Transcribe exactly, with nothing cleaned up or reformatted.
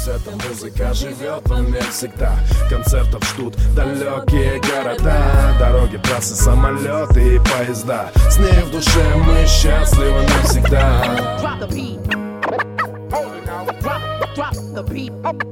Пусть эта музыка живет во мне всегда. Концертов ждут далекие города, дороги, трассы, самолеты и поезда. С ней в душе мы счастливы навсегда. Drop the beat. Hold it now. Drop, drop the beat.